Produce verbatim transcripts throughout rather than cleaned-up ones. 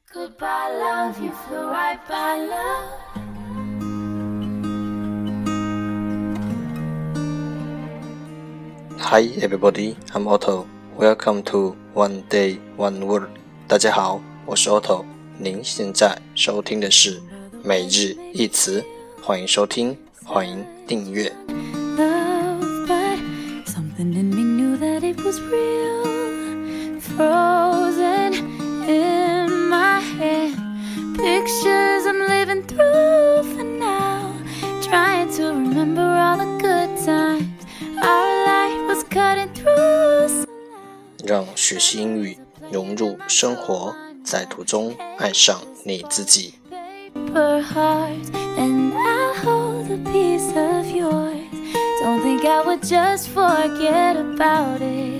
Goodbye love, you flew right by love. Hi everybody, I'm Otto. Welcome to One Day One Word. 大家好，我是 Otto。您现在收听的是每日一词，欢迎收听，欢迎订阅。 Love, but something in me knew that it was real. Frozen in my head, pictures I'm living through for now. Trying to remember all the good times our life was cutting through. 让学习英语融入生活，在途中爱上你自己。 Paper hearts, and I'll hold a piece of yours. Don't think I would just forget about it.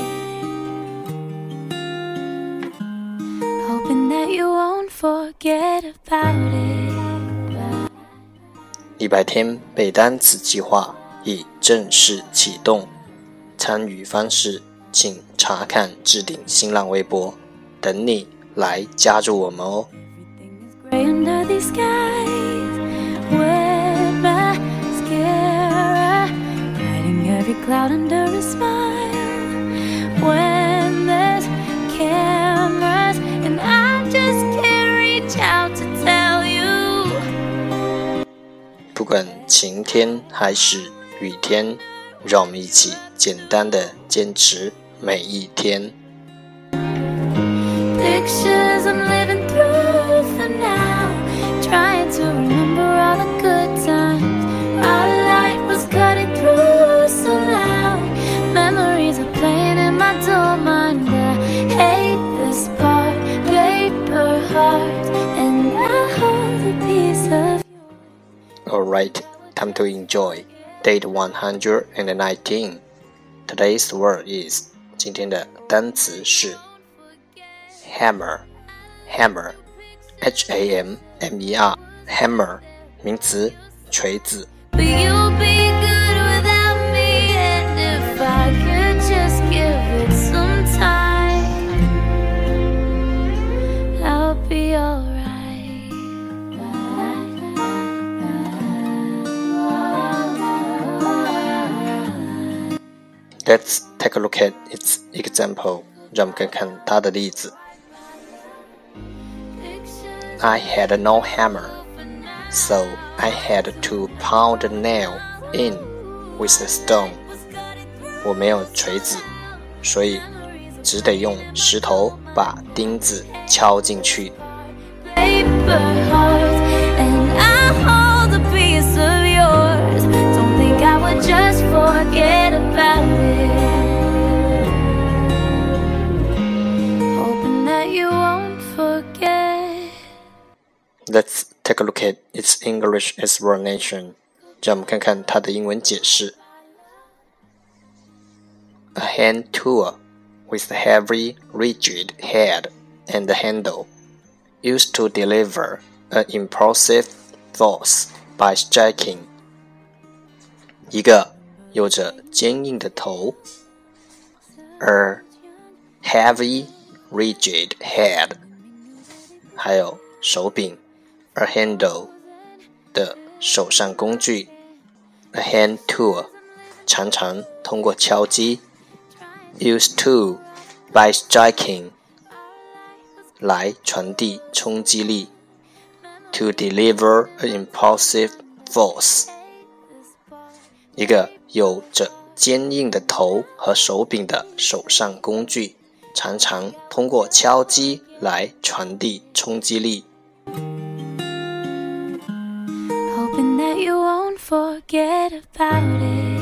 Hoping that you won't forget about it. 一百天背单词计划已正式启动，参与方式请查看置顶新浪微博，等你来加入我们哦。 Gray under these skies, wet mascara, hiding every cloud under a smile. When there's cameras and I just can't reach out to tell you. 不管晴天还是雨天，让我们一起简单的坚持每一天。 Pictures I'm living through for now, trying to remember all the good times our life was cutting through so loud. Memories are playing in my dull mind. I hate this part, paper hearts, and I hold a piece of. Alright, time to enjoy. Date one hundred nineteen. Today's word is 今天的单词是 hammer, hammer, H A M M E R, hammer, 名词，锤子。 But you'll be good without me, and if I could just give it some time, I'll be alright. Let's take a look at its example. 让我们看看它的例子。I had no hammer, so I had to pound a nail in with a stone. 我没有锤子，所以只得用石头把钉子敲进去。 Paper hearts, and I hold a piece of yours. Don't think I would just forget about it. Hoping that you won't forget. Let's take a look at its English explanation. 让我们看看它的英文解释。A hand tool with a heavy, rigid head and handle, used to deliver an impulsive force by striking. 一个有着坚硬的头 a heavy, rigid head, 还有手柄 a handle 的手上工具 a hand tool 常常通过敲击 used to by striking 来传递冲击力 to deliver an impulsive force 一个有着坚硬的头和手柄的手上工具常常通过敲击来传递冲击力。 Hoping that you won't forget about it.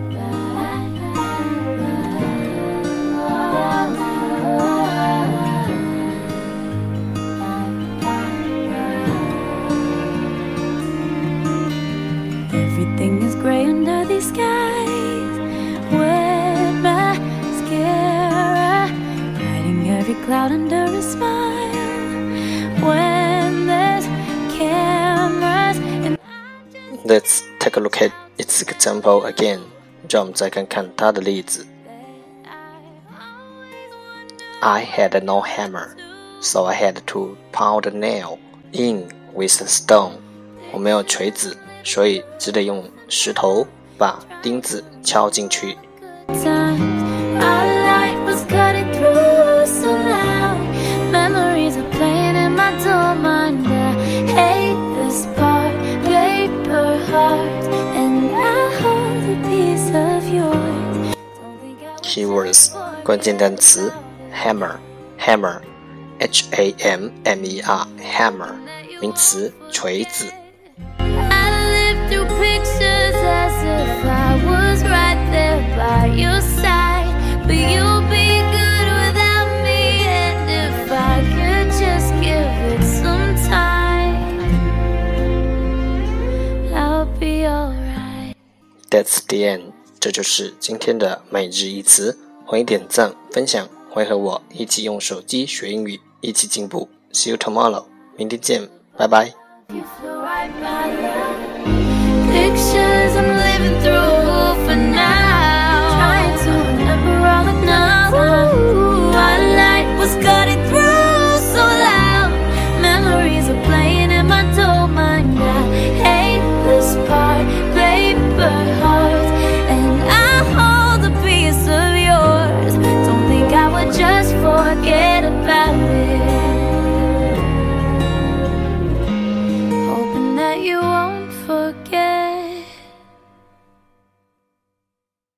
Everything is gray under these skies, wet mascara, hiding every cloud under a smile. When there's cameras and Let's take a look at its example again. 让我们再看看它的例子。I had no hammer, so I had to pound a nail in with a stone. 我没有锤子，所以只得用石头把钉子敲进去。Keywords 关键单词 hammer hammer H A M M E R hammer 名词锤子。That's the end. 这就是今天的每日一词。欢迎点赞分享，欢迎和我一起用手机学英语，一起进步。See you tomorrow. 明天见，拜拜。